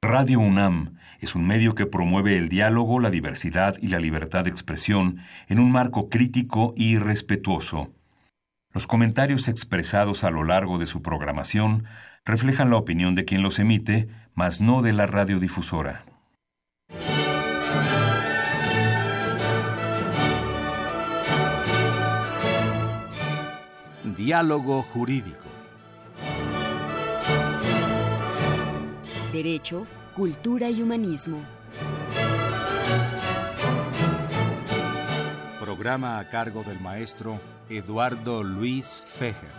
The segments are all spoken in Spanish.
Radio UNAM es un medio que promueve el diálogo, la diversidad y la libertad de expresión en un marco crítico y respetuoso. Los comentarios expresados a lo largo de su programación reflejan la opinión de quien los emite, mas no de la radiodifusora. Diálogo jurídico. Derecho, cultura y humanismo. Programa a cargo del maestro Eduardo Luis Fejer.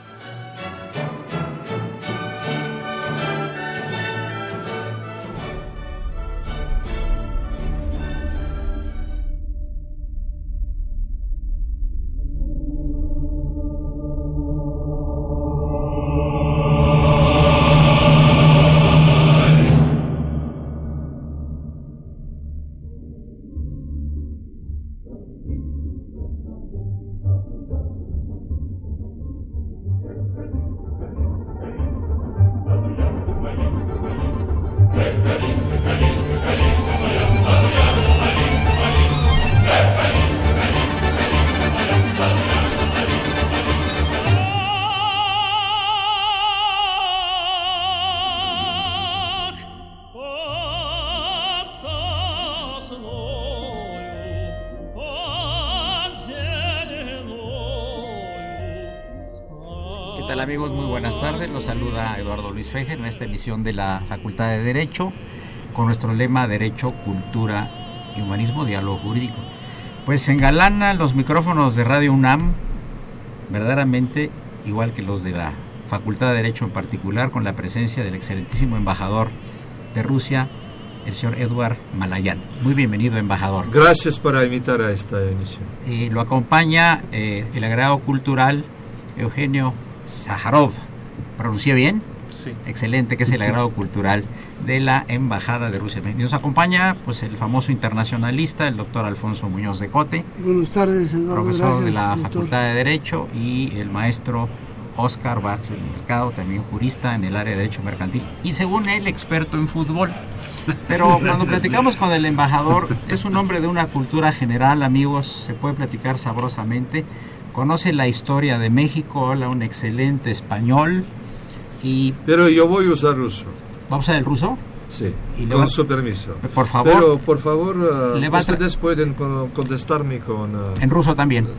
¿Qué tal, amigos? Muy buenas tardes. Los saluda Eduardo Luis Fejer en esta emisión de la Facultad de Derecho con nuestro lema Derecho, Cultura y Humanismo, Diálogo Jurídico. Pues se engalanan los micrófonos de Radio UNAM, verdaderamente igual que los de la Facultad de Derecho en particular, con la presencia del excelentísimo embajador de Rusia, el señor Eduard Malayan. Muy bienvenido, embajador. Gracias por invitar a esta emisión. Lo acompaña el agregado cultural Eugenio Sájarov. ¿Pronuncié bien? Sí. Excelente, que es el agrado cultural de la Embajada de Rusia. Y nos acompaña pues el famoso internacionalista, el doctor Alfonso Muñoz de Cote. Buenas tardes, Eduardo. Profesor de la doctor. Facultad de Derecho, y el maestro Óscar Vázquez del Mercado, también jurista en el área de Derecho Mercantil y, según él, experto en fútbol. Pero cuando platicamos con el embajador, es un hombre de una cultura general, amigos, se puede platicar sabrosamente. Conoce la historia de México, habla un excelente español y... Pero yo voy a usar ruso. ¿Vamos a usar el ruso? Sí, con su permiso. Por favor. Pero, por favor, ustedes pueden contestarme con... En ruso también.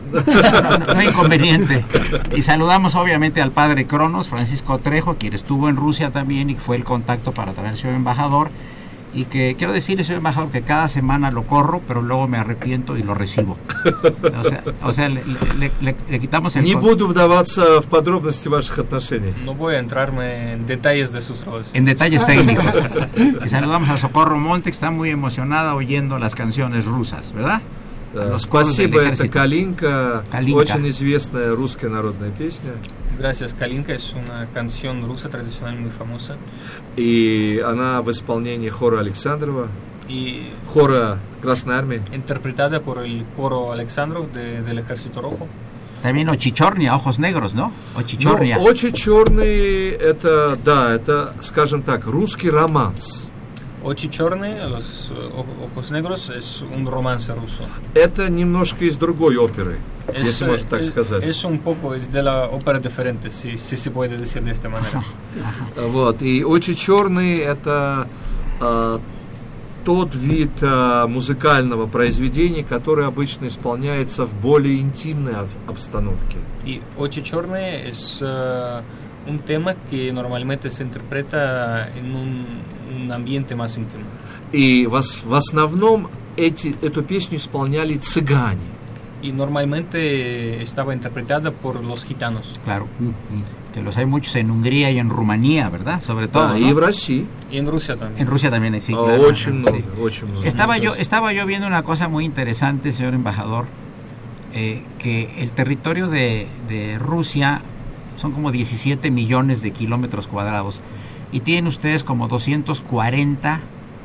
No hay inconveniente. Y saludamos obviamente al padre Cronos, Francisco Trejo, quien estuvo en Rusia también y fue el contacto para traer al señor embajador. Y que quiero decirle, señor embajador, que cada semana lo corro, pero luego me arrepiento y lo recibo. O sea, le quitamos el... Не буду вдаваться в подробности ваших отношений. No voy a entrarme en detalles de sus roles. En detalles técnicos. Y saludamos a Socorro Monte, que está muy emocionada oyendo las canciones rusas, ¿verdad? Спасибо, это Калинка, очень известная русская народная песня. Gracias, Kalinka es una canción rusa tradicional muy famosa. И она в исполнении хора Александрова, y хора Красной Армии. Interpretada por el coro Alexandrov del Ejército Rojo. También Ochichornia, ojos negros, ¿no? Ochichornia. Ну, Очи черные, это, да, это, скажем так, русский романс. Очи черные, los ojos negros, es un romance ruso. Это немножко из другой оперы, если можно так сказать. Es un poco es de la ópera diferente, si se puede decir de esta manera. Вот, и «Очи черные» — это тот вид музыкального произведения, который обычно исполняется в более интимной обстановке. И «Очи черные» es un tema que normalmente se interpreta en un ambiente más íntimo. И в основном эту песню исполняли цыгане. Y normalmente estaba interpretada por los gitanos. Claro, que los hay muchos en Hungría y en Rumanía, ¿verdad? Sobre todo, ¿no? Y en Rusia. Y en Rusia también. En Rusia también, sí, claro. Очень много. Estaba yo viendo una cosa muy interesante, señor embajador, que el territorio de Rusia son como 17 millones de kilómetros cuadrados y tienen ustedes como 140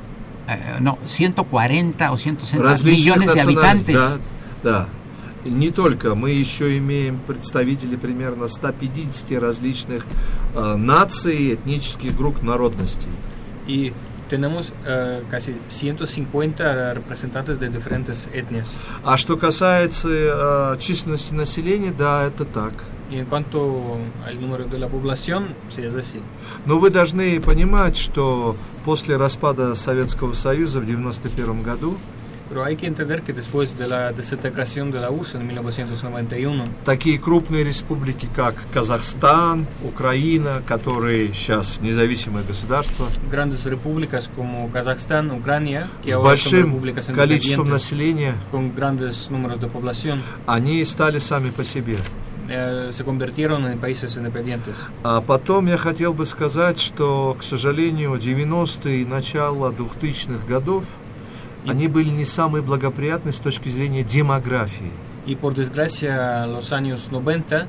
o 160 millones de habitantes. Да. Не только, мы еще имеем представителей примерно 150 различных наций, этнических групп, народностей. Y tenemos casi 150 representantes de diferentes etnias. А что касается численности населения, да, это так. Y en cuanto al número de la población, sí es así. Но вы должны понимать, что после распада Советского Союза в 1991 году Pero hay que entender que después de la desintegración de la URSS en 1991, такие крупные республики, как Казахстан, Украина, которые сейчас независимые государства, grandes repúblicas como Kazajstán, Ucrania, que с ahora son большим repúblicas количеством independientes, населения, con grandes números de población, они стали сами по себе. se convirtieron en países independientes. А потом я хотел бы сказать, что, к сожалению, 90-е и начало 2000-х годов они были не самые благоприятные с точки зрения демографии. Y por desgracia, los años 90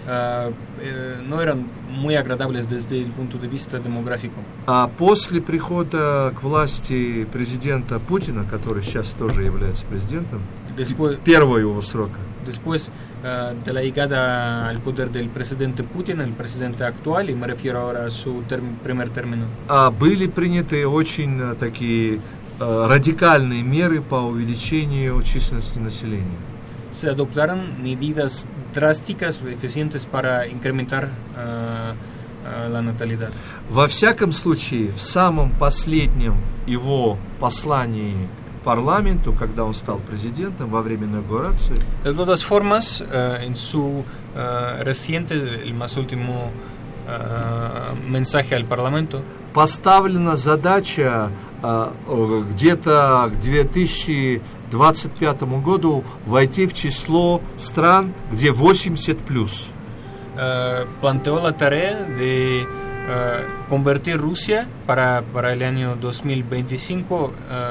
no eran muy agradables desde el punto de vista demográfico. А после прихода к власти президента Путина, который сейчас тоже является президентом, первого его срока, Después de la llegada al poder del presidente Putin, el presidente actual, y me refiero ahora a su primer término, были приняты очень такие радикальные меры по увеличению численности населения. se adoptaron medidas drásticas y eficientes para incrementar la natalidad. Во всяком случае, в самом последнем его послании парламенту, когда он стал президентом во время инаугурации, De todas formas, en su reciente, el más último mensaje al Parlamento, поставлена задача где-то к 2025 году войти в число стран, где 80+. planteó la tarea de convertir Rusia para el año 2025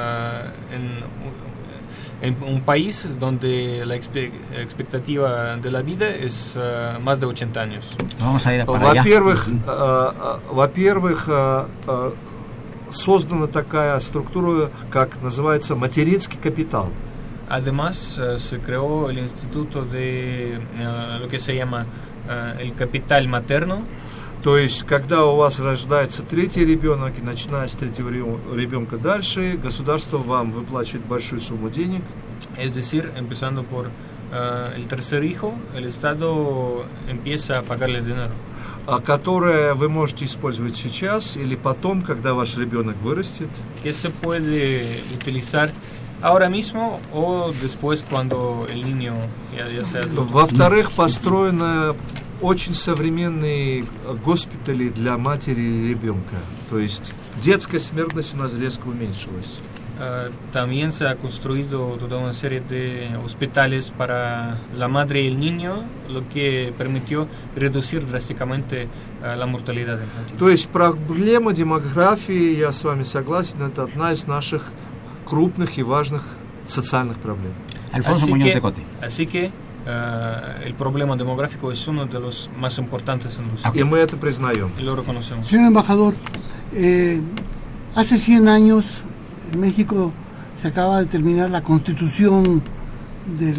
en un país donde la expectativa de la vida es más de 80 años. Vamos a ir para allá. Во-первых, создана такая структура, как называется материнский капитал. Además, se creó el instituto de lo que se llama el capital materno. То есть, когда у вас рождается третий ребенок, и начиная с третьего ребенка дальше, государство вам выплачивает большую сумму денег. Es decir, empezando por el tercer hijo, el Estado empieza a pagarle dinero. Которое вы можете использовать сейчас или потом, когда ваш ребенок вырастет. Que se puede utilizar ahora mismo o después cuando el niño ya sea adulto. Во-вторых, построено очень современные госпитали для матери и ребенка. То есть детская смертность у нас резко уменьшилась. También se ha construido toda una serie de hospitales para la madre y el niño, lo que permitió reducir drásticamente la mortalidad infantil. То есть проблема демографии, я с вами согласен, это одна из наших крупных и важных социальных проблем. Alfonso Muñoz de Cote. Así que el problema demográfico es uno de los más importantes en Rusia. Y мы это признаем. Y lo reconocemos. Señor embajador, hace 100 años en México se acaba de terminar la Constitución del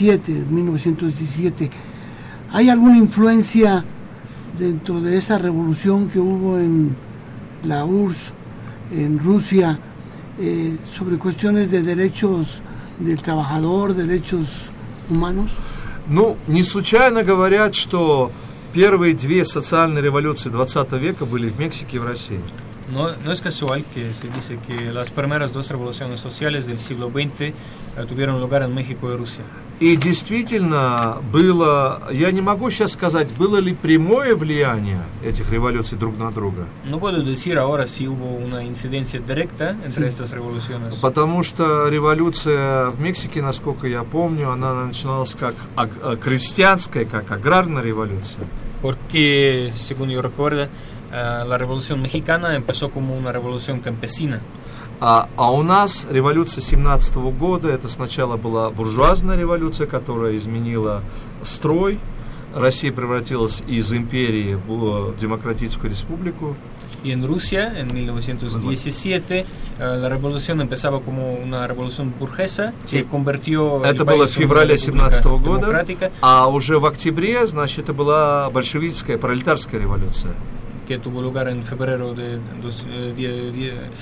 1917. ¿Hay alguna influencia dentro de esa revolución que hubo en la URSS, en Rusia, sobre cuestiones de derechos del trabajador, derechos humanos? Ну, не случайно говорят, что первые две социальные революции 20 века были в Мексике и в России. No es casual que se dice que las primeras dos revoluciones sociales del siglo XX tuvieron lugar en México y Rusia. И действительно было, я не могу сейчас сказать, было ли прямое влияние этих революций друг на друга. No puedo decir ahora si hubo una incidencia directa entre estas revoluciones. Потому что революция в Мексике, насколько я помню, она начиналась как крестьянская, как аграрная революция. Porque, según yo recuerdo, la revolución mexicana empezó como una revolución campesina. А у нас революция 17 года, это сначала была буржуазная революция, которая изменила строй. Россия превратилась из империи в демократическую республику. Y en Rusia, en 1917, la revolución empezaba como una revolución burguesa que convirtió это было в феврале 17 года, а уже в октябре, значит, это была большевистская, пролетарская революция. Que tuvo lugar en febrero de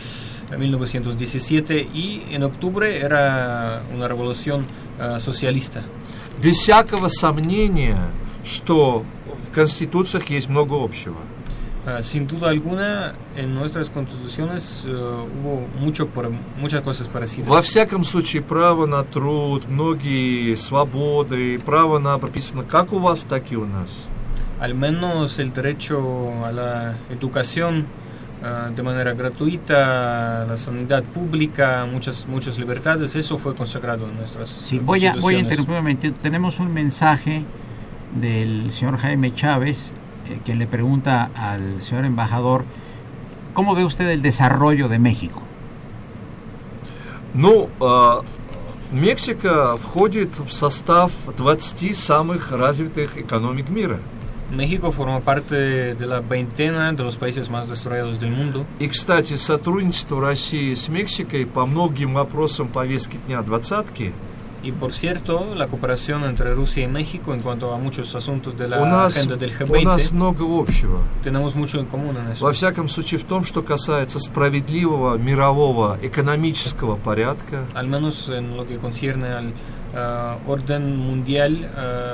1917, y en octubre era una revolución socialista. Без всякого сомнения, что в конституциях есть много общего. Sin duda alguna, en nuestras constituciones hubo muchas cosas parecidas. Во всяком случае, право на труд, многие свободы, право на прописано как у вас, так и у нас. Al menos el derecho a la educación de manera gratuita, la sanidad pública, muchas libertades, eso fue consagrado en nuestras voy a interrumpir un momento. Tenemos un mensaje del señor Jaime Chávez, quien le pregunta al señor embajador, ¿cómo ve usted el desarrollo de México? Мексика входит в состав 20 самых развитых экономик мира. México forma parte de la veintena de los países más desarrollados del mundo. И, кстати, сотрудничество России с Мексикой по многим вопросам повестки дня двадцатки. Y por cierto, la cooperación entre Rusia y México en cuanto a muchos asuntos de la agenda del G20, у нас много общего. Tenemos mucho en común en eso. Во всяком случае, в том, что касается справедливого мирового экономического порядка. Al menos en lo que concierne al orden mundial,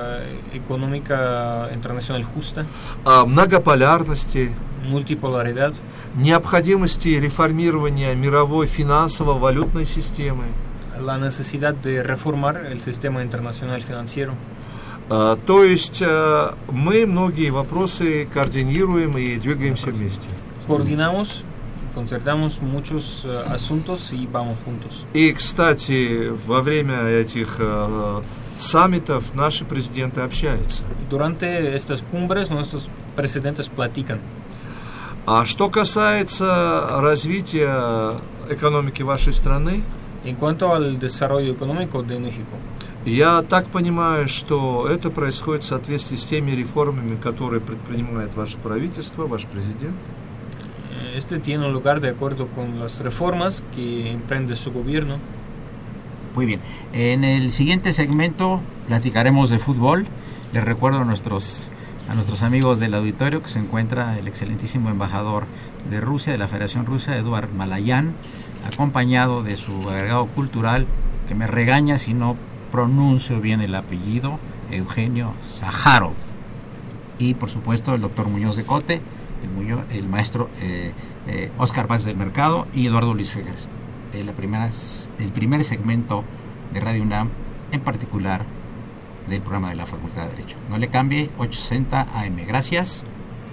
económica internacional justa, многополярности, multipolaridad, необходимости реформирования мировой финансово-валютной системы. La necesidad de reformar el sistema internacional financiero. То есть мы многие вопросы координируем и двигаемся вместе. Coordinamos, concertamos muchos asuntos y vamos juntos. И, кстати, во время этих саммитов наши президенты общаются. Durante estas cumbres nuestros presidentes platican. А что касается развития экономики вашей страны, En cuanto al desarrollo económico de México, я так понимаю, что это происходит в соответствии с теми реформами, которые предпринимает ваше правительство, ваш президент. Este tiene lugar de acuerdo con las reformas que emprende su gobierno. Muy bien. En el siguiente segmento platicaremos de fútbol. Les recuerdo a nuestros amigos del auditorio que se encuentra el excelentísimo embajador de Rusia, de la Federación Rusa, Eduard Malayan, acompañado de su agregado cultural, que me regaña si no pronuncio bien el apellido, Eugenio Sájarov. Y por supuesto el doctor Muñoz de Cote, el maestro Óscar Vázquez del Mercado y Eduardo Luis Fejer. El primer segmento de Radio UNAM, en particular del programa de la Facultad de Derecho. No le cambie, 860 AM. Gracias.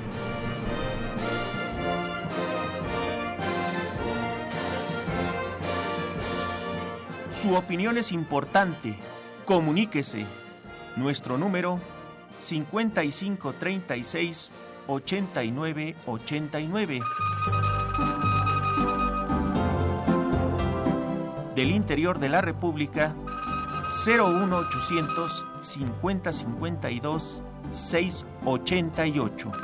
Su opinión es importante. Comuníquese. Nuestro número 5536-8989. Del interior de la República 01800 5052 688.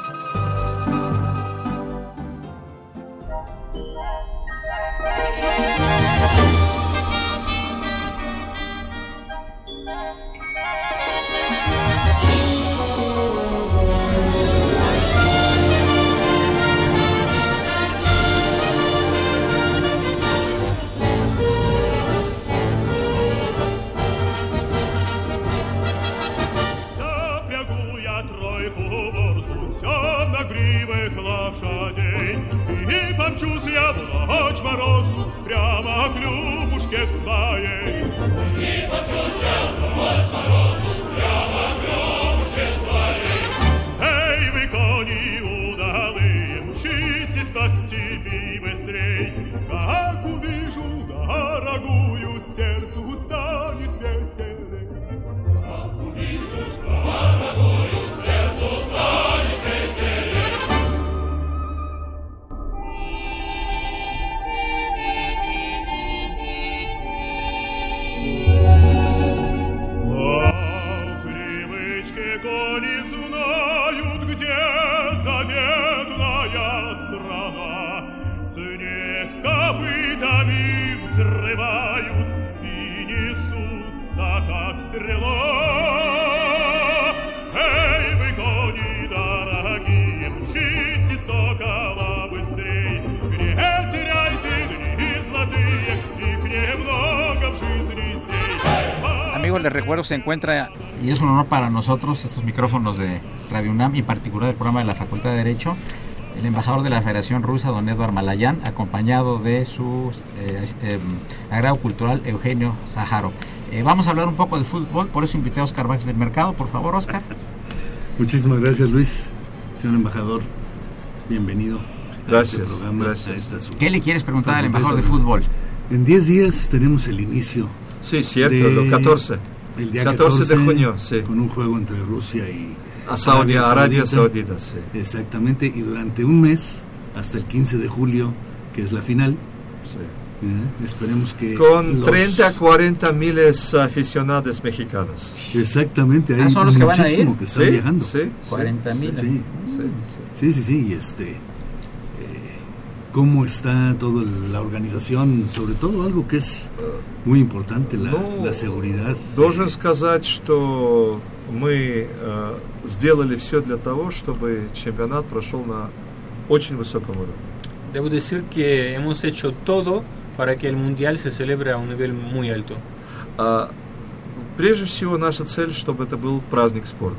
Помчусь я в ночь морозу прямо к Любушке своей. И помчусь я в ночь морозу прямо к Любушке своей. Эй, вы кони удалые, мчитесь по степи быстрей. Как увижу дорогую, сердцу станет веселей. Как увижу дорогую, сердцу станет веселей. Кони знают, где заветная страна. Снег копытами взрывают и несутся, как стрела. Эй, вы, кони дорогие, мчите сокола быстрей, не теряйте дни amigos, les recuerdo se encuentra, y es un honor para nosotros, estos micrófonos de Radio UNAM y en particular el programa de la Facultad de Derecho, el embajador de la Federación Rusa, don Eduard Malayan, acompañado de su agrado cultural, Eugenio Sájarov. Vamos a hablar un poco de fútbol, por eso invité a Óscar Vázquez del Mercado. Por favor, Óscar. Muchísimas gracias, Luis. Señor embajador, bienvenido. Gracias. Gracias. ¿Qué le quieres preguntar al embajador de fútbol? En 10 días tenemos el inicio. Sí, cierto, el 14. El día 14 de junio, sí. Con un juego entre Rusia y Arabia Saudita, sí. Exactamente, y durante un mes, hasta el 15 de julio, que es la final. Sí. Esperemos que... Con 30 a 40 miles aficionados mexicanos. Exactamente, hay son los que van a ir. Que están viajando. Sí, 40 mil. Sí, y cómo está toda la organización, sobre todo algo que es muy importante, la seguridad. Должен сказать, что мы сделали все для того, чтобы чемпионат прошел на очень высоком уровне. Debo decir que hemos hecho todo para que el mundial se celebre a un nivel muy alto. Прежде всего, наша цель, чтобы это был праздник спорта.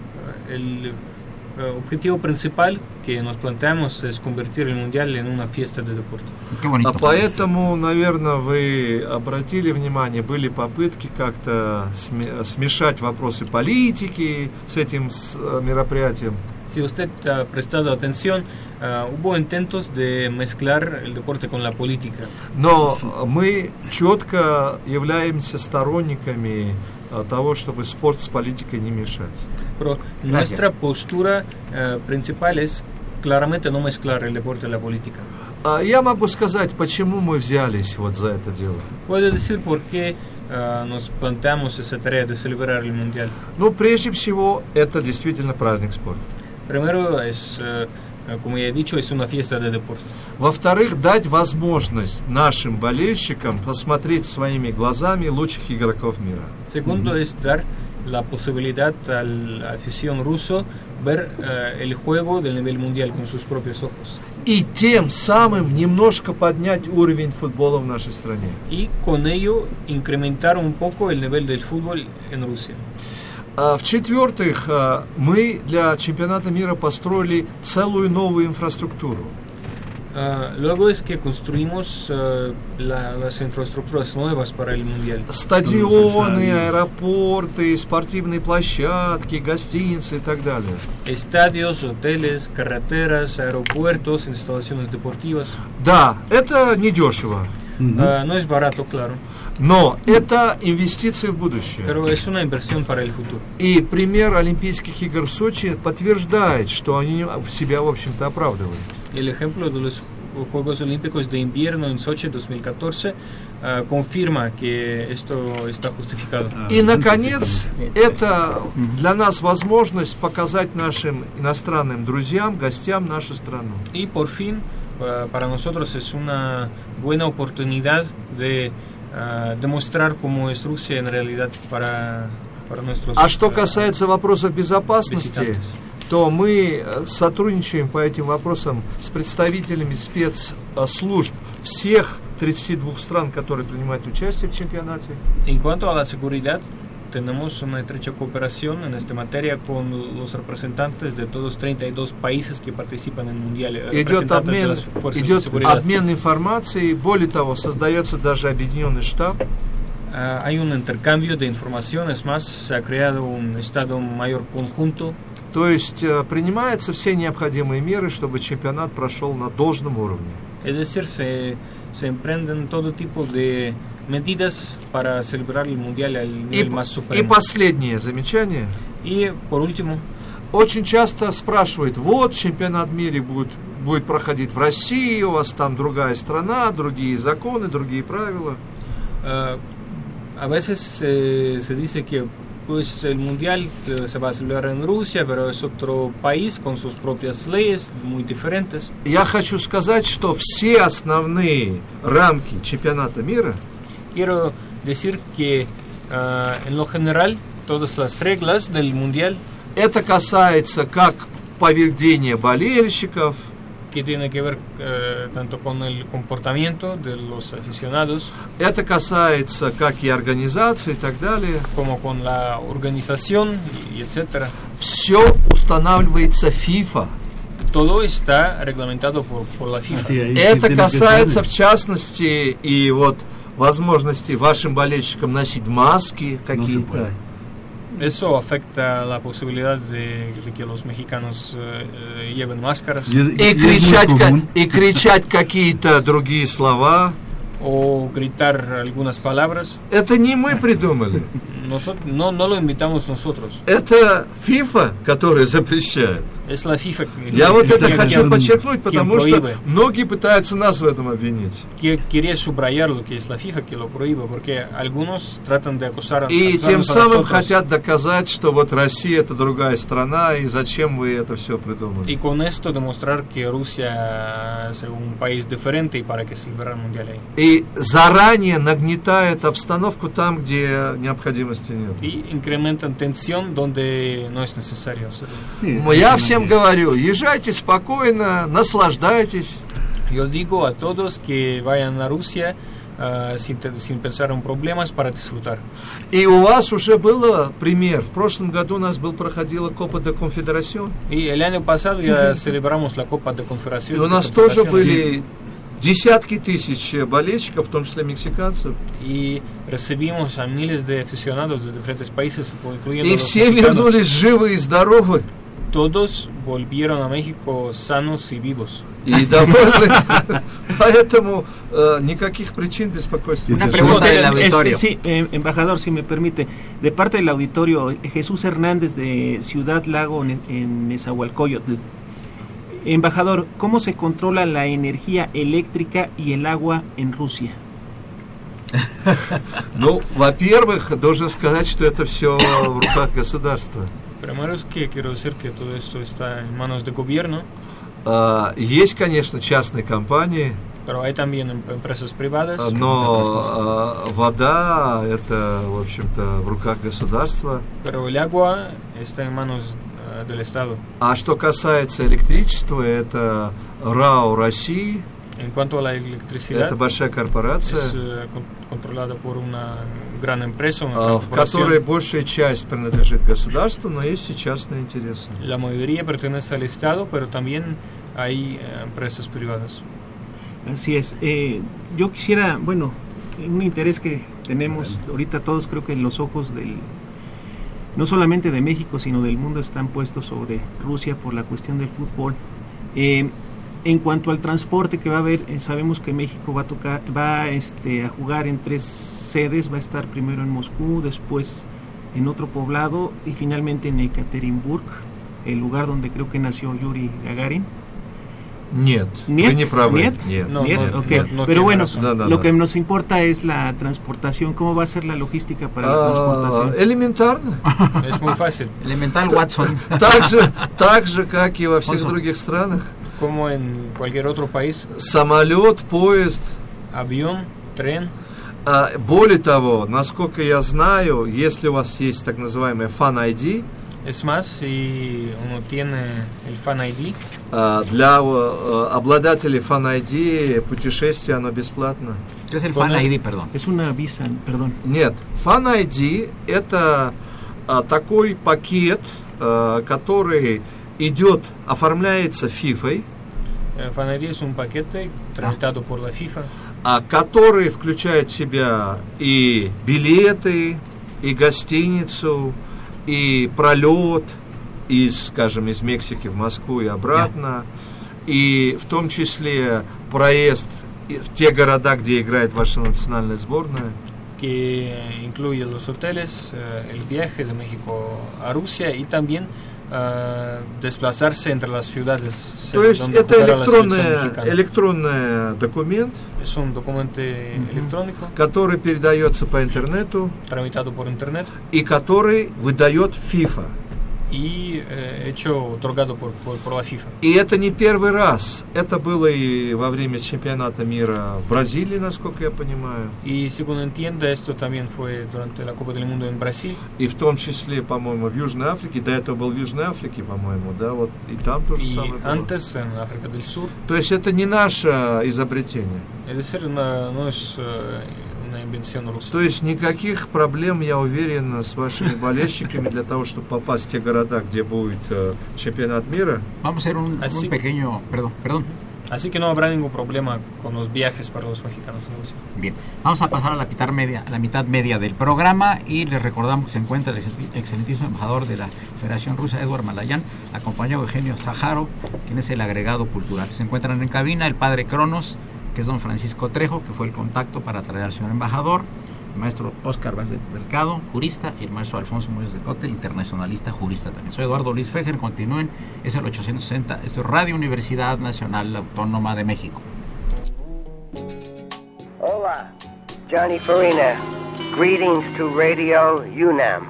El objetivo principal que nos planteamos es convertir el mundial en una fiesta de deporte. Поэтому, наверное, вы обратили внимание, были попытки как-то смешать вопросы политики с этим мероприятием. Si usted ha prestado atención, hubo intentos de mezclar el deporte con la política. Но мы четко являемся сторонниками того, чтобы спорт с политикой не мешать. Pero nuestra postura principal es claramente no mezclar el deporte y la política. Я могу сказать, почему мы взялись вот за это дело. Puedo decir por qué nos planteamos esa tarea de celebrar el mundial. Ну, прежде всего, это действительно праздник спорта. Primero es, como ya he dicho, es una fiesta de deporte. Во-вторых, дать возможность нашим болельщикам посмотреть своими глазами лучших игроков мира. Segundo es dar la posibilidad a la afición ruso ver el juego del nivel mundial con sus propios ojos. И тем самым немножко поднять уровень футбола в нашей стране. Y con ello incrementar un poco el nivel del fútbol en Rusia. В-четвертых, мы для чемпионата мира построили целую новую инфраструктуру. Luego es que construimos las infraestructuras nuevas para el mundial. Стадионы, аэропорты, спортивные площадки, гостиницы и так далее. Estadios, hoteles, carreteras, aeropuertos, instalaciones deportivas. Да, это недешево. No es barato, claro. Но это инвестиции в будущее. Pero es una inversión para el futuro. И пример Олимпийских игр в Сочи подтверждает, что они себя, в общем-то, оправдывают. El ejemplo de los Juegos Olímpicos de Invierno en Sochi 2014 confirma que esto está justificado. И, наконец, это для нас возможность показать нашим иностранным друзьям, гостям нашу страну. Y por fin, para nosotros es una buena oportunidad de demostrar cómo es Rusia en realidad para nuestros А что касается вопросов безопасности, visitantes. то мы сотрудничаем по этим вопросам с представителями спецслужб всех 32 стран, которые принимают участие в чемпионате. En cuanto a la seguridad, tenemos una estrecha cooperación en esta materia con los representantes de todos 32 países que participan en el Mundial. Идет обмен информацией, более того, создается даже объединенный штаб. Hay un intercambio de información, es más, se ha creado un Estado Mayor conjunto. То есть принимаются все необходимые меры, чтобы чемпионат прошел на должном уровне. Es decir, se emprenden todo tipo de medidas para celebrar el Mundial al nivel más supremo. И последнее замечание. Y por último, очень часто спрашивают, вот чемпионат мира будет проходить в России, у вас там другая страна, другие законы, другие правила. A veces se dice que pues el mundial se va a celebrar en Rusia, pero es otro país con sus propias leyes muy diferentes. Я хочу сказать, что все основные рамки чемпионата мира Quiero decir que en lo general todas las reglas del mundial это касается как поведения болельщиков, que tiene que ver tanto con el comportamiento de los aficionados. Это касается как и организации и так далее. Como con la organización y etcétera. Все устанавливается FIFA. Todo está reglamentado por la FIFA. Это касается, в частности, и вот возможности вашим болельщикам носить маски какие-то. Eso afecta la posibilidad de que los mexicanos lleven máscaras. И кричать какие-то другие слова. O gritar algunas palabras. Это не мы придумали. No lo invitamos nosotros. Это FIFA, которая запрещает. Es la FIFA. Я вот это хочу подчеркнуть, потому что многие пытаются нас в этом обвинить. Quería subrayar lo que es la FIFA que lo prohíbe, porque algunos tratan de acusar. И тем самым хотят доказать, что вот Россия это другая страна, и зачем вы это все придумали. Y con esto demostrar que Rusia es un país diferente y para que celebrar el mundial ahí. И заранее нагнетает обстановку там, где необходимости нет. Y incrementan tensión donde no es necesario hacerlo. Я всем говорю, езжайте спокойно, наслаждайтесь. Yo digo a todos que vayan a Rusia sin pensar en problemas para disfrutar. И у вас уже был пример. В прошлом году у нас проходила Copa de Confederación. Y el año pasado ya celebramos la Copa de Confederación. И у нас тоже были десятки тысяч болельщиков, в том числе мексиканцев. Y recibimos a miles de aficionados de diferentes países, incluyendo И los все mexicanos. вернулись живы и здоровы. Todos volvieron a México sanos y vivos. И довольны. Поэтому никаких причин беспокойства. Una pregunta del auditorio. Sí, embajador, si me permite. De parte del auditorio, Jesús Hernández de Ciudad Lago en Nezahualcóyotl. Embajador, ¿cómo se controla la energía eléctrica y el agua en Rusia? Ну, во-первых, должен сказать, что это все в руках государства. Primero es que quiero decir que todo esto está en manos del gobierno. Есть, конечно, частные компании. Pero hay también empresas privadas. Но вода это, в общем-то, в руках государства. Pero el agua está en manos del Estado. А что касается электричества, это РАО России. En cuanto a la electricidad, это большая корпорация, es controlada por una gran empresa, в которой большая часть принадлежит государству, но есть и частные интересы. La mayoría pertenece al Estado, pero también hay empresas privadas. Así es. Yo quisiera, bueno, un interés que tenemos ahorita todos, creo que en los ojos no solamente de México, sino del mundo, están puestos sobre Rusia por la cuestión del fútbol. En cuanto al transporte que va a haber, sabemos que México va a jugar en 3 sedes, va a estar primero en Moscú, después en otro poblado y finalmente en Ekaterimburg, el lugar donde creo que nació Yuri Gagarin. Нет, вы не правы. Нет. Pero bueno, lo que nos importa es la transportación. ¿Cómo va a ser la logística para la transportación? Элементарно. Es muy fácil. Elemental, Watson. Так же, как и во всех других странах. Como en cualquier otro país. Самолет, поезд. Avión, tren. Более того, насколько я знаю, если у вас есть так называемый Fan ID, es más, si uno tiene el Fan ID, для обладателей Fan ID путешествие оно бесплатно. ¿Qué es el Fan ID, perdón? Es una visa, perdón. Нет, Fan ID это такой пакет, который оформляется FIFA. Fan ID es un paquete tramitado por la FIFA, который включает в себя и билеты, и гостиницу, и пролет из Мексики в Москву и обратно, и в том числе проезд в те города, где играет ваша национальная сборная. Que incluye los hoteles, el viaje de México a Rusia y también desplazarse entre las ciudades. То есть это электронный документ, es un documento electrónico, который передается по интернету, tramitado por internet, и который выдает FIFA. y hecho otorgado por la FIFA. И это не первый раз. Это было и во время чемпионата мира в Бразилии, насколько я понимаю. Y según entiendo, esto también fue durante la Copa del Mundo en Brasil. И в том числе, по-моему, в Южной Африке. До этого был в Южной Африке, по-моему, да, вот и там тоже самое было. Antes en África del Sur. То есть это не наше изобретение. Es decir, no es una invención rusa. То есть никаких проблем, я уверен, с вашими болельщиками для того, чтобы попасть в те города, где будет чемпионат мира. Vamos a hacer un pequeño... Perdón. Así que no habrá ningún problema con los viajes para los mexicanos. Bien, vamos a pasar a la mitad media del programa y les recordamos que se encuentra el excelentísimo embajador de la Federación Rusa, Eduard Malayan, acompañado de Eugenio Sájarov, quien es el agregado cultural. Se encuentran en cabina el padre Cronos, que es don Francisco Trejo, que fue el contacto para traer al señor embajador, el maestro Óscar Vaz del Mercado, jurista, y el maestro Alfonso Muñoz de Cote, internacionalista, jurista también. Soy Eduardo Luis Fejer, continúen, es el 860, esto es Radio Universidad Nacional Autónoma de México. Hola, Johnny Farina, greetings to Radio UNAM.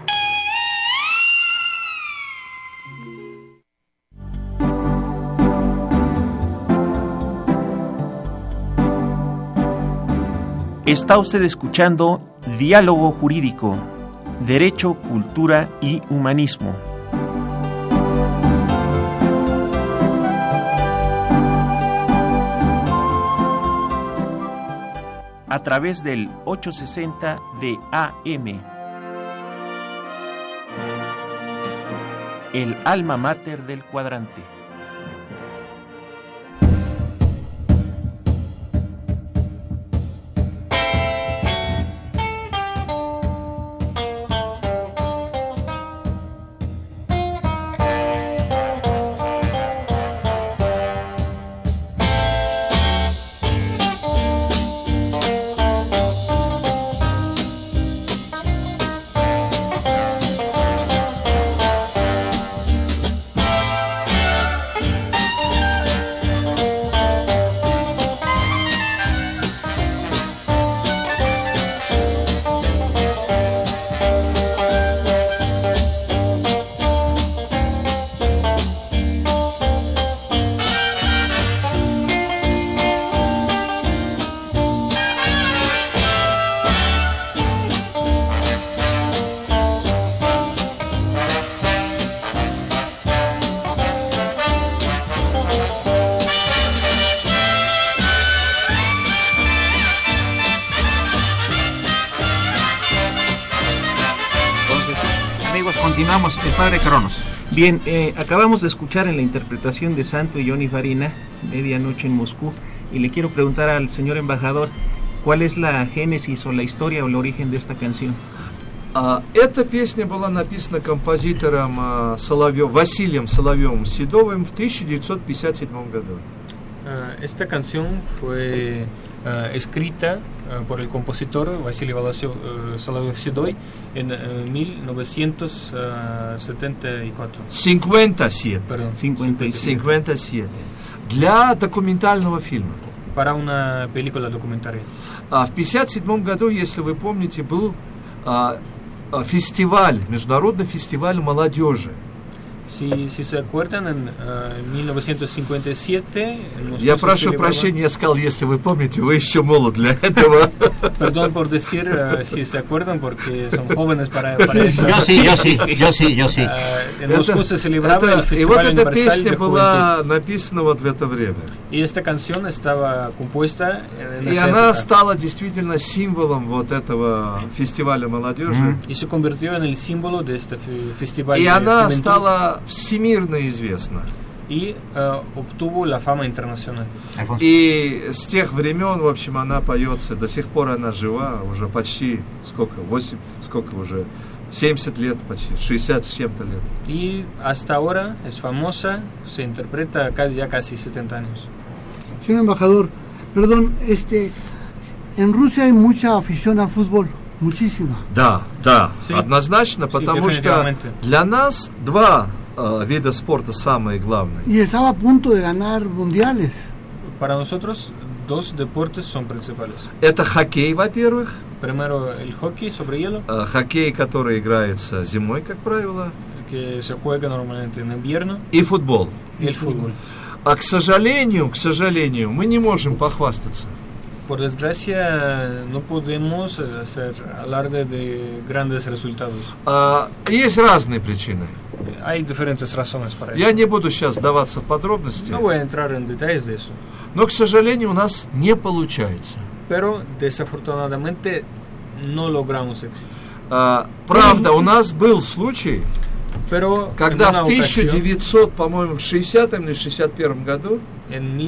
Está usted escuchando Diálogo Jurídico, Derecho, Cultura y Humanismo. A través del 860 de AM. El alma mater del cuadrante. Continuamos, el padre Cronos. Bien, acabamos de escuchar en la interpretación de Santo y Johnny Farina, Medianoche en Moscú, y le quiero preguntar al señor embajador, ¿cuál es la génesis o la historia o el origen de esta canción? Эта песня была написана композитором Василием Соловьевым-Седовым в 1957 году. Esta canción fue escrita por el compositor Vasily Solovьев-Седой en 1974. 57. Perdón, 57. Для документального фильма. Para una película documentaria. В 1957 году, если вы помните, был фестиваль, международный фестиваль молодежи. Si se acuerdan, en 1957... Я прошу прощения, я сказал, если вы помните, вы еще молод для этого. Perdón por decir, si se acuerdan, porque son jóvenes para eso. Yo sí. En Moscú se celebraba el Festival и вот эта Universal песня de была написана вот в это время. Y esta canción estaba compuesta en И esa она época. стала действительно символом вот этого фестиваля молодежи. Y se convirtió en el símbolo de este festival. И de она juventud. стала всемирно известна. Y obtuvo la fama internacional. И с тех времен, в общем, она поется, до сих пор она жива, уже почти, 70 лет, почти, 60 с чем-то лет. Y hasta ahora es famosa, se interpreta ya casi 70 años. Señor embajador, perdón, en Rusia hay mucha afición al fútbol, muchísima. Да, sí, однозначно, потому что для нас два вида спорта самые главные. Y estaba a punto de ganar mundiales. Para nosotros, dos deportes son principales. Это хоккей, во-первых. Primero, el hockey sobre hielo. Хоккей, который играется зимой, как правило. que se juega normalmente en invierno. И футбол. Y el fútbol. А к сожалению, мы не можем похвастаться. Por desgracia, no podemos hacer alarde de grandes resultados. Есть разные причины. Hay diferentes razones para eso. Я не буду сейчас вдаваться в подробности. No voy a entrar en detalles de eso. Но, к сожалению, у нас не получается. Pero, desafortunadamente, no logramos éxito. Правда, у нас был случай, Pero, когда в 1960 или 61 году en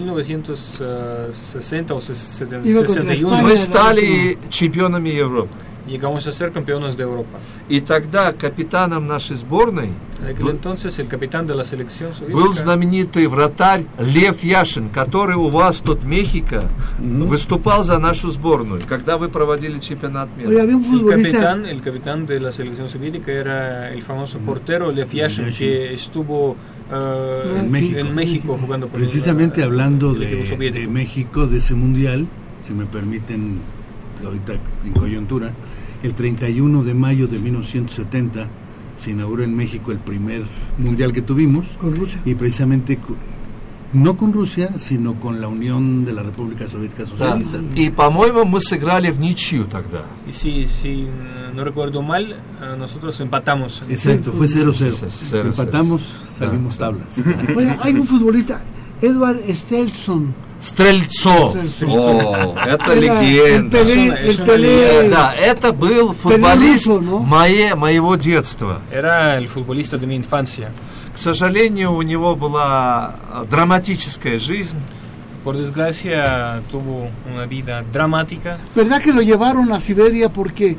1960 o 61 мы стали чемпионами Европы. Llegamos a ser campeones de Europa. И тогда капитаном нашей сборной entonces, el capitán de la selección был знаменитый вратарь Лев Яшин, который у вас тут в Мехико выступал за нашу сборную, когда вы проводили чемпионат мира. El capitán de la selección soviética era el famoso portero Lev Yashin, que estuvo en México jugando por precisamente hablando de México, de ese mundial, si me permiten, ahorita en coyuntura, el 31 de mayo de 1970 se inauguró en México el primer mundial que tuvimos. Con Rusia. Y precisamente no con Rusia, sino con la Unión de la República Soviética Socialista. И, по-моему, мы сыграли в ничью тогда. Y si no recuerdo mal, nosotros empatamos. Exacto, fue 0-0. Empatamos, salimos tablas. Oye, hay un futbolista, Edward Stelson. Стрельцов. О, это легенда. Да, это был футболист моего детства. Era el futbolista de mi infancia. К сожалению, у него была драматическая жизнь. Por desgracia, tuvo una vida dramática. ¿Verdad que lo llevaron a Siberia porque,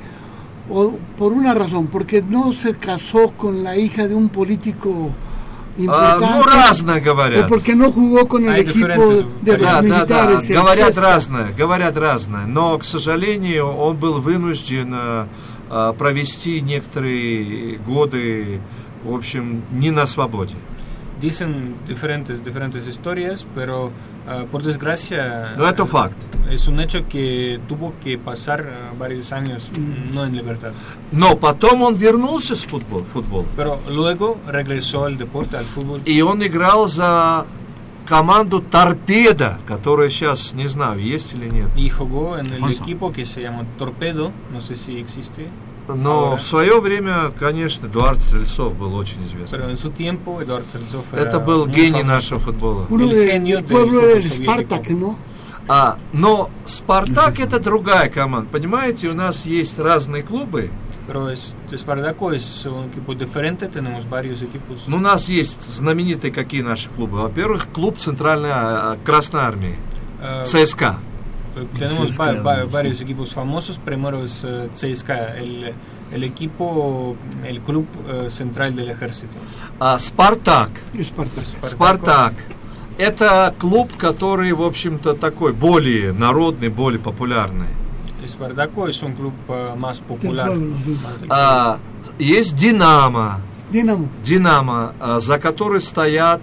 por una razón, porque no se casó con la hija de un político importante? Ну, разное говорят. O porque no jugó con el equipo de los militares. Да. Говорят разное. Но, к сожалению, он был вынужден провести некоторые годы, в общем, не на свободе. Dicen diferentes historias, pero por desgracia no, это факт. Es un hecho que tuvo que pasar varios años no en libertad. Но потом он вернулся с футбола. Pero luego regresó al deporte, al fútbol. И он играл за команду Торпедо, которая сейчас, не знаю, есть или нет. Y jugó en el equipo que se llama Torpedo, no sé si existe. Но ahora. В свое время, конечно, Эдуард Стрельцов был очень известен. Pero en su tiempo, Эдуард Стрельцов это был гений нашего футбола. Uno del pueblo del Spartak, ¿no? Но Спартак это другая команда. Понимаете, у нас есть разные клубы. Pero Spartaco es un equipo diferente, tenemos varios equipos. У нас есть знаменитые какие наши клубы. Во-первых, клуб Центральной Красной Армии, ЦСКА. Tenemos varios equipos famosos. Primero es CSKA, el equipo, el club central del ejército. Спартак. Спартак. Это клуб, который, в общем-то, такой более народный, более популярный. Spartaco es un club más popular. Есть Динамо. Динамо, за которой стоят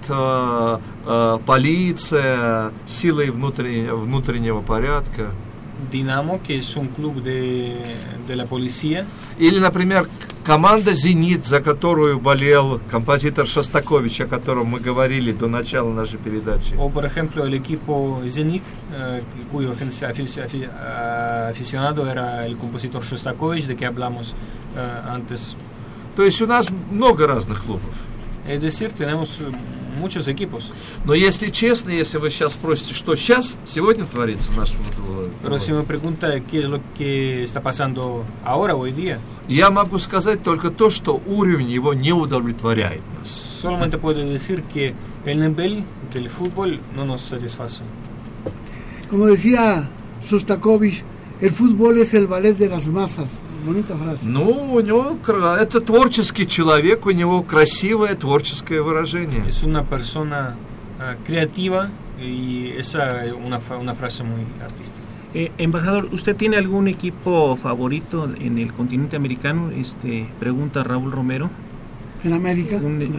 полиция, силы внутреннего порядка. Динамо, que es un club de la policía. Или, например, команда «Зенит», за которую болел композитор Шостакович, о котором мы говорили до начала нашей передачи. O, por ejemplo, el equipo Zenit, cuyo aficionado era el compositor Shostakovich, de que hablamos antes. То есть у нас много разных клубов. Es decir, tenemos muchos equipos. Но если честно, если вы сейчас спросите, что сегодня творится в нашем футболе. Pero si me pregunta qué es lo que está pasando ahora, hoy día. Я могу сказать только то, что уровень его не удовлетворяет нас. Solamente puedo decir que el nivel del fútbol no nos satisface. Como decía Shostakovich, el fútbol es el ballet de las masas. Bonita frase. Ну, у него это творческий человек, у него красивое творческое выражение. Es una persona creativa y esa es una frase muy artística. Embajador, ¿usted tiene algún equipo favorito en el continente americano? Pregunta Raúl Romero. ¿En América?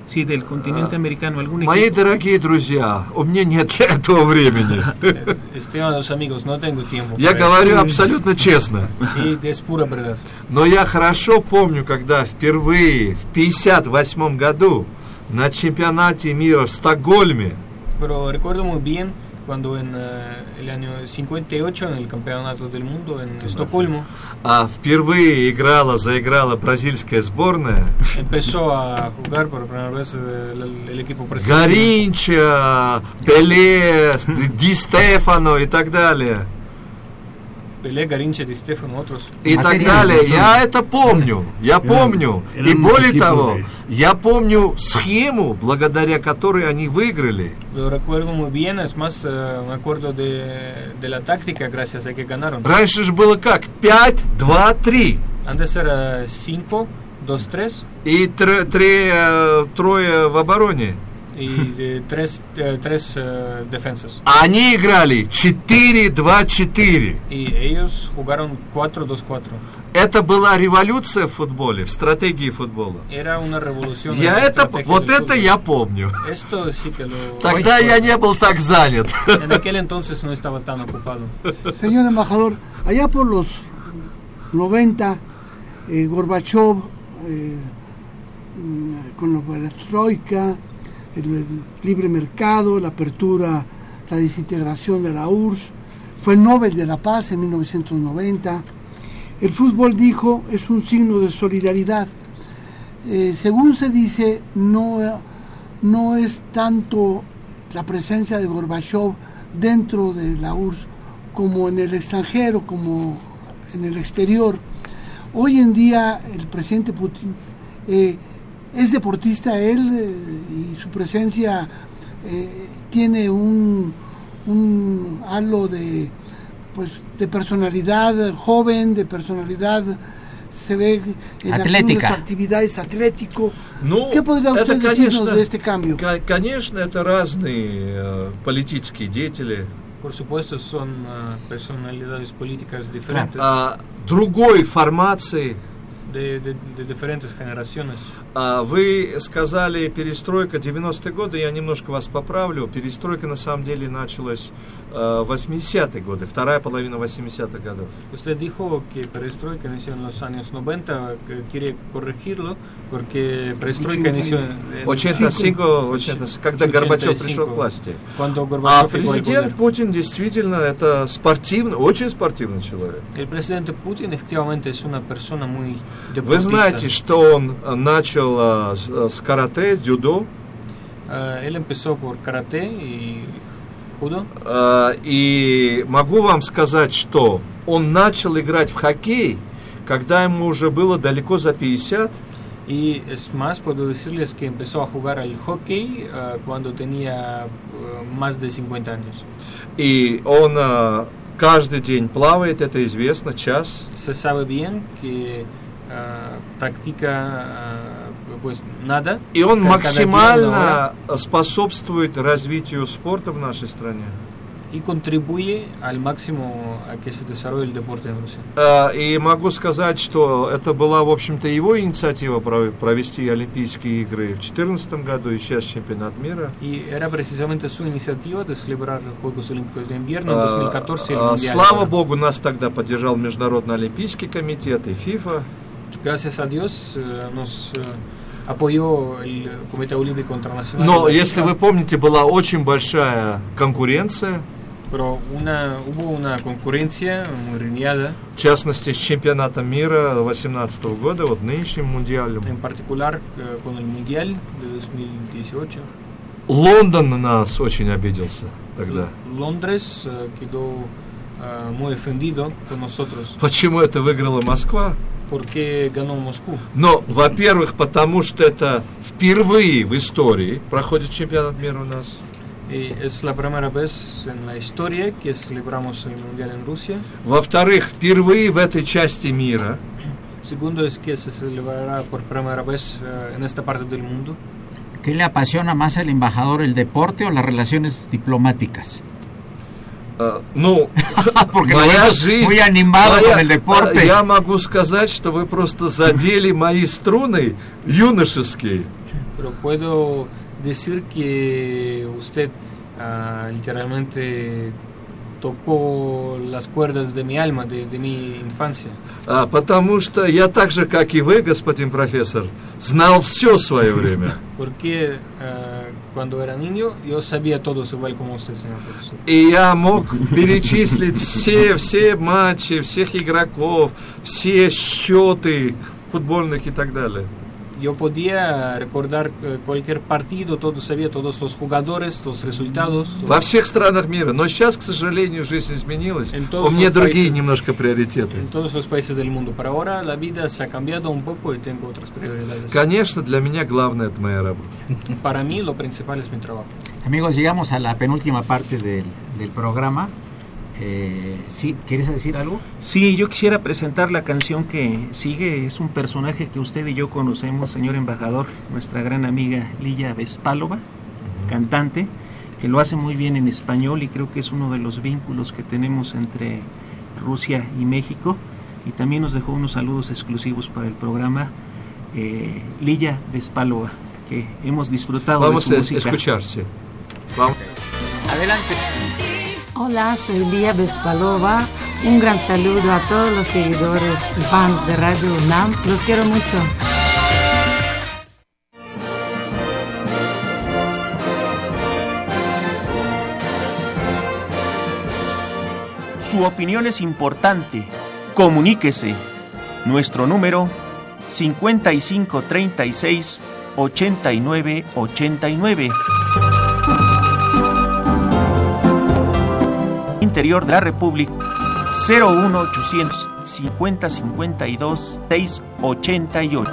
Sí, del continente americano. ¿Algún equipo? Мои дорогие друзья, у меня нет для этого времени. Estimados amigos, no tengo tiempo. Я говорю абсолютно честно. Y es pura verdad. Но я хорошо помню, когда впервые в 1958 году на чемпионате мира в Стокгольме Pero recuerdo muy bien cuando en el año 58 en el campeonato del mundo en Estocolmo впервые заиграла бразильская сборная. Empezó a jugar por primera vez el equipo brasileño. Гаринча, Пеле, Ди Стефано и так далее. Pelé, Garincha, Di Stefano, otros. И так далее. Я это помню. Я помню. И более того, я помню схему, благодаря которой они выиграли. Lo recuerdo muy bien, es más, me acuerdo de la táctica gracias a que ganaron. Раньше же было как? 5-2-3. Antes era 5-2-3. И трое в обороне. Y tres defensas. Они играли 4-2-4. Y ellos jugaron 4-2-4. Это была революция в футболе, в стратегии футбола. Era una revolución. Вот это я помню. Esto sí que lo... Тогда я не был так занят. En aquel entonces no estaba tan ocupado. Señor embajador, allá por los 90, Gorbachev, con la perestroika, el libre mercado, la apertura, la desintegración de la URSS, fue el Nobel de la Paz en 1990. El fútbol, dijo, es un signo de solidaridad. Según se dice, no es tanto la presencia de Gorbachev dentro de la URSS como en el extranjero, como en el exterior. Hoy en día el presidente Putin es deportista, él y su presencia tiene un halo de personalidad joven, de personalidad, se ve en algunas actividades atlético. ¿Qué podría usted decirnos de este cambio? Конечно, это разные политические деятели. Por supuesto, son personalidades políticas diferentes. Другой формации. De diferentes generaciones. Вы сказали перестройка 90-е годы, я немножко вас поправлю. Перестройка на самом деле началась в 80-е годы, вторая половина 80-х годов. Usted dijo que perestroika inició en los años 90, quiere corregirlo, porque perestroika inició en 85, когда Горбачев пришел к власти. Президент Путин действительно это спортивный, очень спортивный человек. El presidente Putin efectivamente es una persona muy deportista. Вы знаете, что он начал с карате, дзюдо. Él empezó por karate y judo. И могу вам сказать, что он начал играть в хоккей, когда ему уже было далеко за 50. Y es más, puedo decirles que empezó a jugar al hockey cuando tenía más de 50 años. И он каждый день плавает, это известно, час. Se sabe bien que practica pues nada. И он максимально способствует развитию спорта в нашей стране. Y contribuye al máximo a que se desarrolle el deporte en Rusia. И могу сказать, что это была, в общем-то, его инициатива провести Олимпийские игры в 2014 году и сейчас чемпионат мира. Y era precisamente su iniciativa de celebrar los Juegos Olímpicos de Invierno en 2014 el Mundial. Слава Богу, нас тогда поддержал Международный Олимпийский комитет и ФИФА. Gracias a Dios nos apoyó el Comité Olímpico Internacional. Но, если вы помните, была очень большая конкуренция. Pero hubo una concurrencia muy reñida. В частности, с чемпионатом мира 2018 года, вот нынешним мундиалем. En particular con el Mundial de 2018. Лондон на нас очень обиделся тогда. Londres quedó muy ofendido con nosotros. Почему это выиграла Москва? Porque ganó Moscú. Но, во-первых, потому что это впервые в истории проходит чемпионат мира у нас. Y es la primera vez en la historia que celebramos el Mundial en Rusia. Во-вторых, впервые в этой части мира. Segundo es que se celebrará por primera vez en esta parte del mundo. ¿Qué le apasiona más al embajador, el deporte o las relaciones diplomáticas? Porque моя жизнь, muy animado con el deporte. Я могу сказать, что вы просто задели мои струны юношеские. pero puedo decir que usted literalmente tocó las cuerdas de mi alma, de mi infancia. Потому что я так же, как и вы, господин профессор, знал все в свое время. Porque cuando era niño yo sabía todo igual como usted, señor profesor. И я мог перечислить все матчи, всех игроков, все счеты футбольных и так далее. Yo podía recordar cualquier partido, todo sabía, todos los jugadores, los resultados. Во всех странах мира. Но сейчас, к сожалению, жизнь изменилась. У меня другие немножко приоритеты. En todos los países del mundo. Pero ahora la vida se ha cambiado un poco y tengo otras prioridades. Конечно, для меня главное это моя работа. Para mí lo principal es mi trabajo. Amigos, llegamos a la penúltima parte del programa. ¿Sí? ¿Quieres decir algo? Sí, yo quisiera presentar la canción que sigue. Es un personaje que usted y yo conocemos, señor embajador, nuestra gran amiga Lilla Bespalova, cantante, que lo hace muy bien en español y creo que es uno de los vínculos que tenemos entre Rusia y México. Y también nos dejó unos saludos exclusivos para el programa, Lilla Bespalova, que hemos disfrutado de su música. Vamos a escuchar, sí. Vamos. Adelante. Hola, soy Lilla Bespalova. Un gran saludo a todos los seguidores y fans de Radio UNAM. Los quiero mucho. Su opinión es importante. Comuníquese. Nuestro número 5536-8989. Interior de la República 01800 5052 688.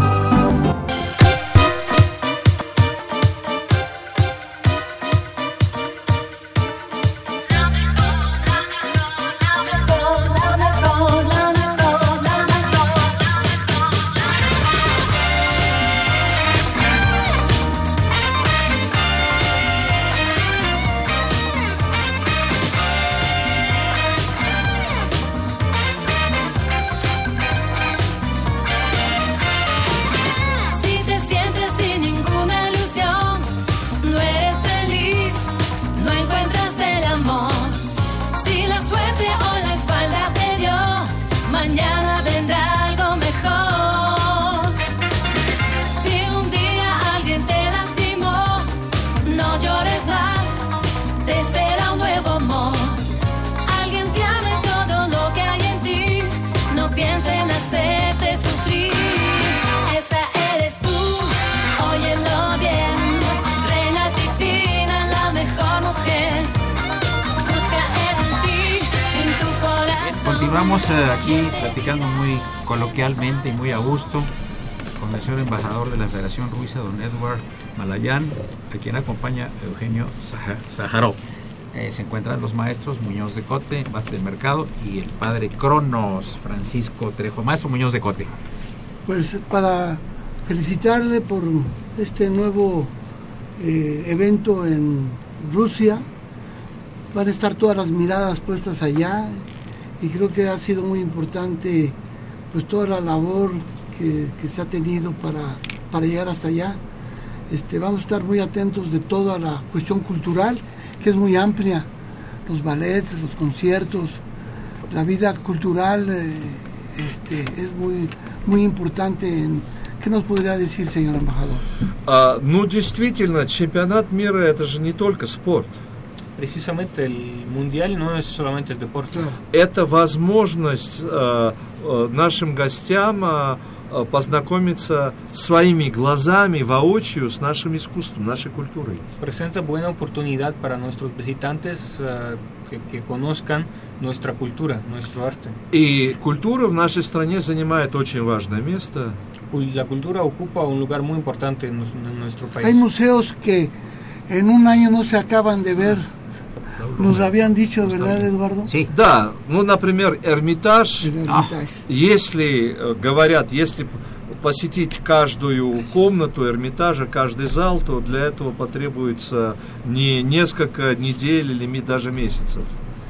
Continuamos aquí platicando muy coloquialmente y muy a gusto con el señor embajador de la Federación Rusa, don Edward Malayan, a quien acompaña Eugenio Sájarov. Se encuentran los maestros Muñoz de Cote, Vázquez del Mercado, y el padre Cronos, Francisco Trejo. Maestro Muñoz de Cote. Pues para felicitarle por este nuevo evento en Rusia. Van a estar todas las miradas puestas allá y creo que ha sido muy importante pues toda la labor que se ha tenido para llegar hasta allá. Vamos a estar muy atentos de toda la cuestión cultural, que es muy amplia, los ballets, los conciertos, la vida cultural es muy importante. ¿Qué nos podría decir, señor embajador? Ну, действительно, чемпионат мира – это же не только спорт. Precisamente el mundial no es solamente el deporte. Это возможность нашим гостям познакомиться своими глазами, воочию, с нашим искусством, нашей культурой. Presenta buena oportunidad para nuestros visitantes que conozcan nuestra cultura, nuestro arte. И культура в нашей стране занимает очень важное место. La cultura ocupa un lugar muy importante en nuestro país. Hay museos que en un año no se acaban de ver. Nos habían dicho, ¿verdad, Eduardo? Sí. Да, ну, например, Эрмитаж. Если, говорят, если посетить каждую комнату Эрмитажа, каждый зал, то для этого потребуется не несколько недель или даже месяцев.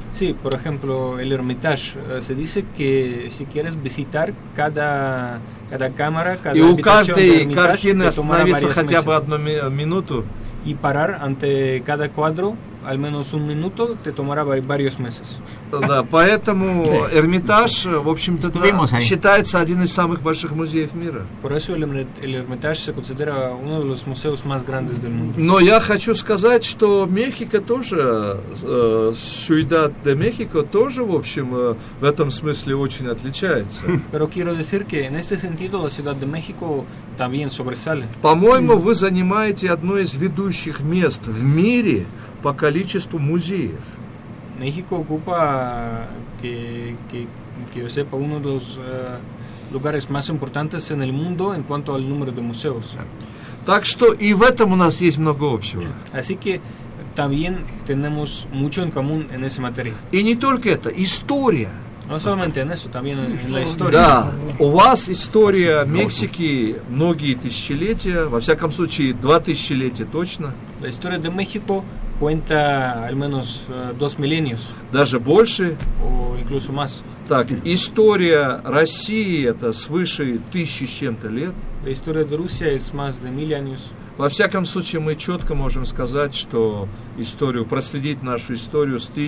Sí, por ejemplo, el Hermitage. Se dice que si quieres visitar cada cámara, cada и у habitación del каждой Hermitage, картины te tomará остановиться varios хотя бы meses. одну минуту. Y parar ante cada cuadro al menos un minuto te tomará varios meses. Да, поэтому Эрмитаж, в общем-то, считается один из самых больших музеев мира. Por eso el Hermitage se considera uno de los museos más grandes del mundo. Но я хочу сказать, что Мехико тоже, Ciudad de México тоже, в общем, в этом смысле очень отличается. Pero quiero decir que en este sentido la Ciudad de México también sobresale. По-моему, вы занимаете одно из ведущих мест в мире по количеству музеев. México ocupa, que yo sepa, uno de los lugares más importantes en el mundo en cuanto al número de museos. Так что и в этом у нас есть много общего. Así que también tenemos mucho en común en esa materia. И не только это, история. No solamente en eso, también en la historia. Да, у вас история Мексики многие тысячелетия, во всяком случае 2 тысячелетия точно. La historia de México cuenta al menos 2 milenios. Даже больше. O incluso más. Так, история России это свыше 1000 с чем-то лет. La historia de Rusia es más de 1000 años. Во всяком случае, мы четко можем сказать, что историю, проследить нашу историю с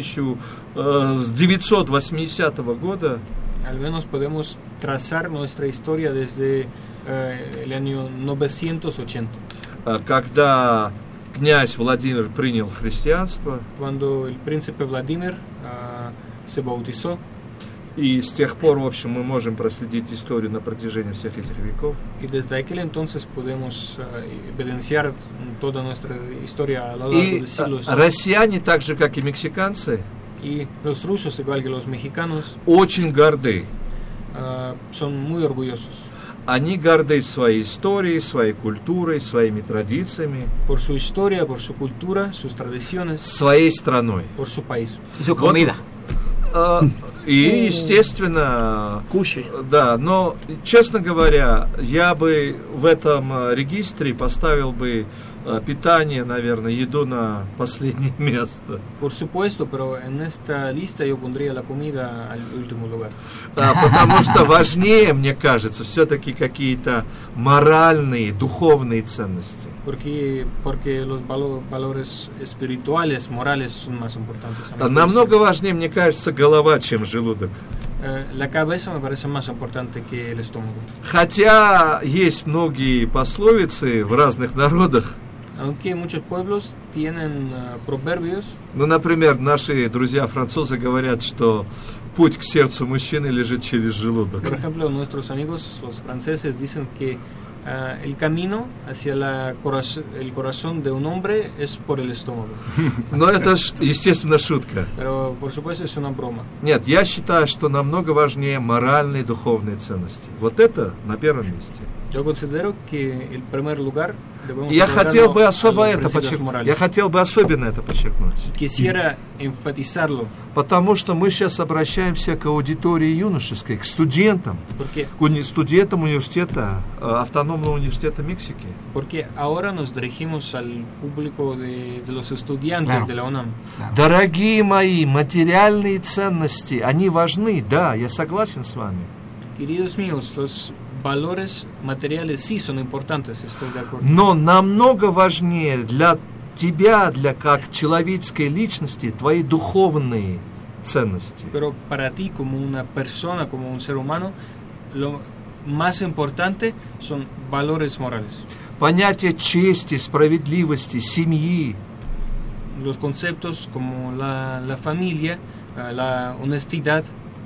980 года. Al menos podemos trazar nuestra historia desde el año 980. Когда князь Владимир принял христианство. Cuando el príncipe Vladimir se bautizó. И с тех пор, в общем, мы можем проследить историю на протяжении всех этих веков. Y desde aquel entonces podemos evidenciar toda nuestra historia a lo largo de siglos. И россияне, так же как и мексиканцы, y los rusos, igual que los mexicanos, очень горды. Son muy orgullosos. Они горды своей историей, своей культурой, своими традициями. Por su historia, por su cultura, sus tradiciones. Своей страной. Por su país. Y su comida. И, естественно, кушай. Да, но, честно говоря, я бы в этом регистре поставил бы питание, наверное, еду на последнее место. Por supuesto, pero en esta lista yo pondría la comida al último lugar. Потому что важнее, мне кажется, все-таки какие-то моральные, духовные ценности. Porque los valores espirituales, morales son más importantes. Намного важнее, мне кажется, голова, чем желудок. La cabeza me parece más importante que el estómago. Хотя есть многие пословицы в разных народах. Aunque muchos pueblos tienen proverbios. Ну, например, наши друзья-французы говорят, что путь к сердцу мужчины лежит через желудок. Por ejemplo, nuestros amigos, los franceses, dicen que el camino hacia el corazón de un hombre es por el estómago. Но это ж, естественно, шутка. Pero, por supuesto, es una broma. Нет, я считаю, что намного важнее моральные и духовные ценности. Вот это на первом месте. Yo considero que el primer lugar debemos Я хотел бы особо a los это principios подчеркнуть. morales. Я хотел бы особенно это подчеркнуть. Quisiera enfatizarlo. Потому что мы сейчас обращаемся к аудитории юношеской, к студентам, к студентам университета, автономного университета Мексики. Porque ahora nos dirigimos al público de los estudiantes de la UNAM. Дорогие мои, материальные ценности, они важны, да, я согласен с вами. Queridos míos, los valores materiales sí son importantes, estoy de acuerdo. Но намного важнее для тебя, для как человеческой личности, твои духовные ценности. Pero para ti, como una persona, como un ser humano, lo más importante son valores morales. Понятие чести, справедливости, семьи. Los conceptos como la familia, la honestidad.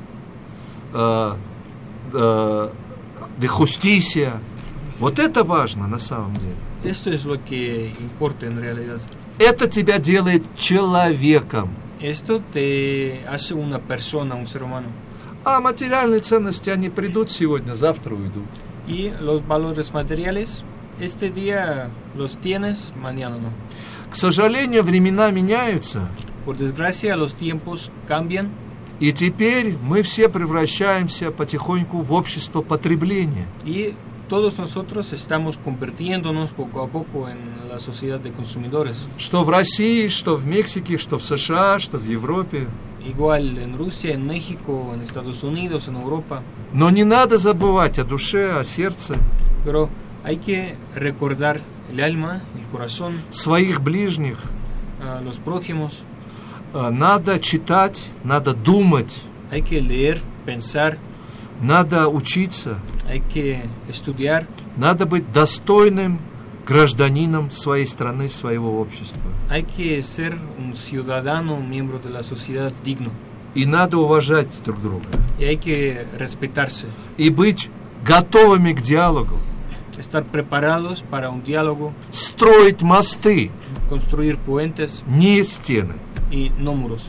De justicia. Вот это важно на самом деле. Esto es lo que importa en realidad. Это тебя делает человеком. Esto te hace una persona, un ser humano. А материальные ценности, они придут сегодня, завтра уйдут. Y los valores materiales, este día los tienes, mañana no. К сожалению, времена меняются. Por desgracia, los tiempos cambian. И теперь мы все превращаемся потихоньку в общество потребления. Y todos nosotros estamos convirtiéndonos poco a poco en la sociedad de consumidores. Что в России, что в Мексике, что в США, что в Европе. igual en Rusia, en México, en Estados Unidos, en Europa. Но не надо забывать о душе, о сердце. Pero hay que recordar el alma, el corazón, своих ближних. Los prójimos. Надо читать, надо думать. Hay que leer, pensar. Надо учиться. Hay que estudiar. Надо быть достойным гражданином своей страны, своего общества. Hay que ser un ciudadano, un miembro de la sociedad digno. И надо уважать друг друга. Y hay que respetarse. И быть готовыми к диалогу. Estar preparados para un diálogo. Строить мосты. Construir puentes. Не стены. Y no muros.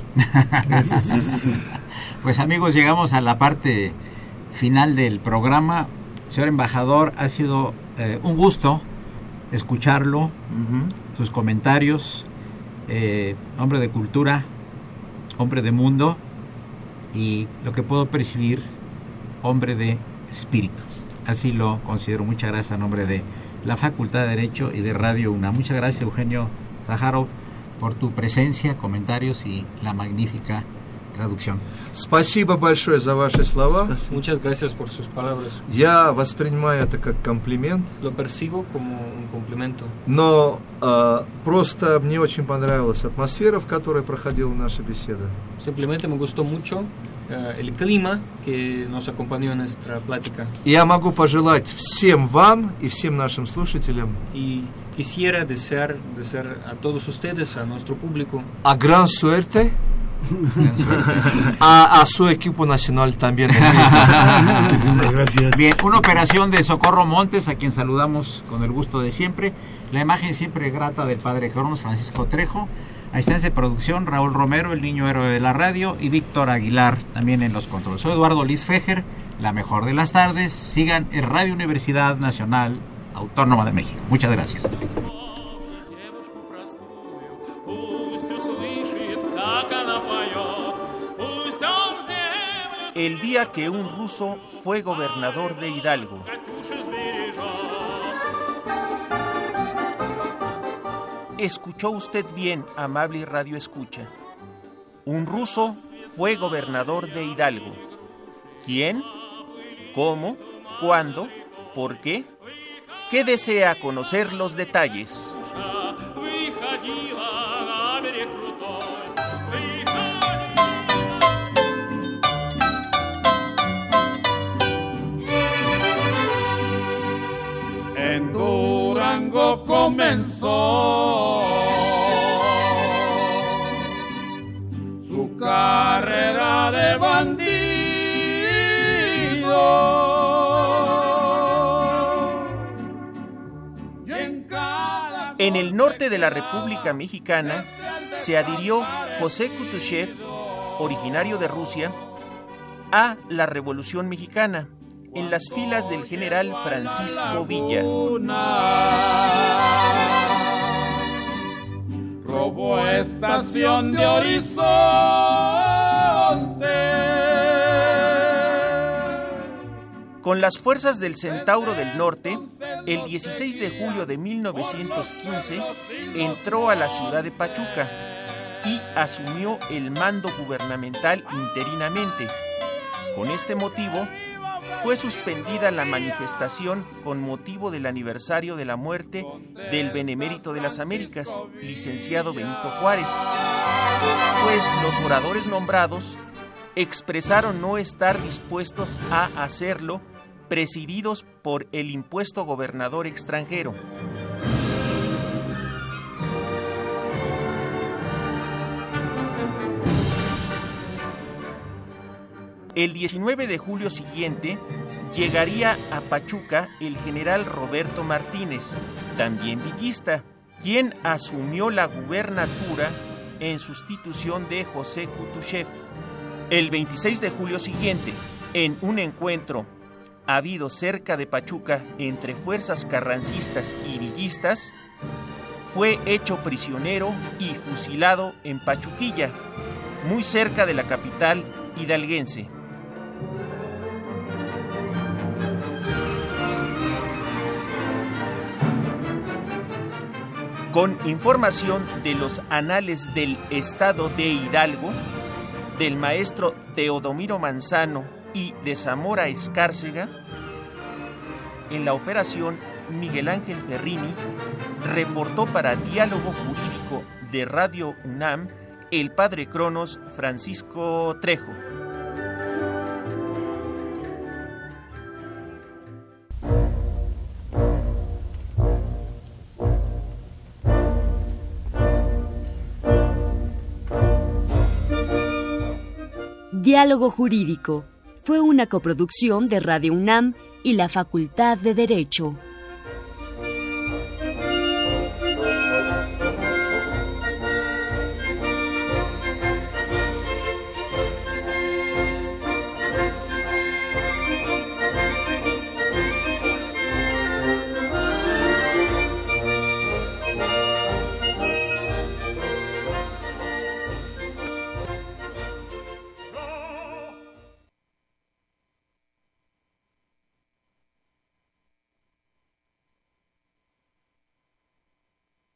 Pues amigos, llegamos a la parte final del programa. Señor embajador, ha sido un gusto escucharlo, sus comentarios, hombre de cultura, hombre de mundo y lo que puedo percibir, hombre de espíritu. Así lo considero. Muchas gracias a nombre de la Facultad de Derecho y de Radio UNAM. Muchas gracias, Eugenio Zaharov, por tu presencia, comentarios y la magnífica traducción. Спасибо большое за ваши слова. Muchas gracias por sus palabras. Я воспринимаю это как комплимент. Lo percibo como un complemento. Но просто мне очень понравилась атмосфера, в которой проходила наша беседа. Simplemente me gustó mucho el clima que nos acompañó en nuestra plática. Я могу пожелать всем вам и всем нашим слушателям. Y quisiera desear a todos ustedes, a nuestro público. A gran suerte. A su equipo nacional también. Gracias. Bien, una operación de Socorro Montes, a quien saludamos con el gusto de siempre. La imagen siempre grata del padre Cronos, Francisco Trejo. Asistencia de producción, Raúl Romero, el niño héroe de la radio, y Víctor Aguilar también en los controles. Soy Eduardo Luis Fejer, la mejor de las tardes. Sigan en Radio Universidad Nacional Autónoma de México. Muchas gracias. El día que un ruso fue gobernador de Hidalgo. Escuchó usted bien, amable radio escucha. Un ruso fue gobernador de Hidalgo. ¿Quién? ¿Cómo? ¿Cuándo? ¿Por qué? ¿Qué desea conocer los detalles? En Durango comenzó su carrera de bandido. En el norte de la República Mexicana se adhirió José Kutushev, originario de Rusia, a la Revolución Mexicana, en las filas del general Francisco Villa. Robó estación de Horizonte. Con las fuerzas del Centauro del Norte, el 16 de julio de 1915 entró a la ciudad de Pachuca y asumió el mando gubernamental interinamente. Con este motivo, fue suspendida la manifestación con motivo del aniversario de la muerte del Benemérito de las Américas, licenciado Benito Juárez, pues los oradores nombrados expresaron no estar dispuestos a hacerlo, presididos por el impuesto gobernador extranjero. El 19 de julio siguiente llegaría a Pachuca el general Roberto Martínez, también villista, quien asumió la gubernatura en sustitución de José Kutushev. El 26 de julio siguiente, en un encuentro habido cerca de Pachuca entre fuerzas carrancistas y villistas, fue hecho prisionero y fusilado en Pachuquilla, muy cerca de la capital hidalguense. Con información de los anales del estado de Hidalgo, del maestro Teodomiro Manzano y de Zamora Escárcega. En la operación, Miguel Ángel Ferrini. Reportó para Diálogo Jurídico de Radio UNAM el padre Cronos Francisco Trejo. Diálogo Jurídico fue una coproducción de Radio UNAM y la Facultad de Derecho.